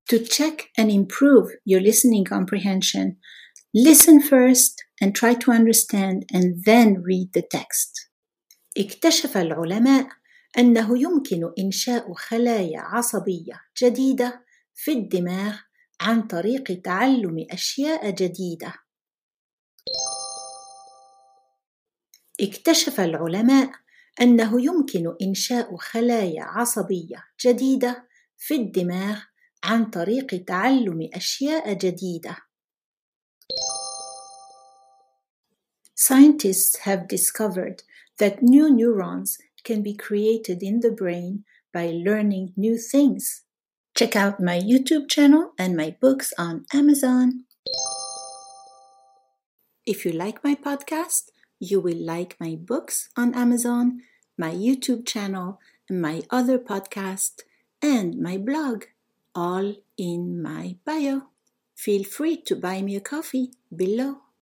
To check and improve your listening comprehension, listen first and try to understand and then read the text. اكتشف العلماء أنه يمكن إنشاء خلايا عصبية جديدة في الدماغ عن طريق تعلم أشياء جديدة. اكتشف العلماء أنه يمكن إنشاء خلايا عصبية جديدة في الدماغ عن طريق تعلم أشياء جديدة. Scientists have discovered that new neurons can be created in the brain by learning new things. Check out my YouTube channel and my books on Amazon. If you like my podcast, you will like my books on Amazon, my YouTube channel, my other podcast, and my blog, all in my bio. Feel free to buy me a coffee below.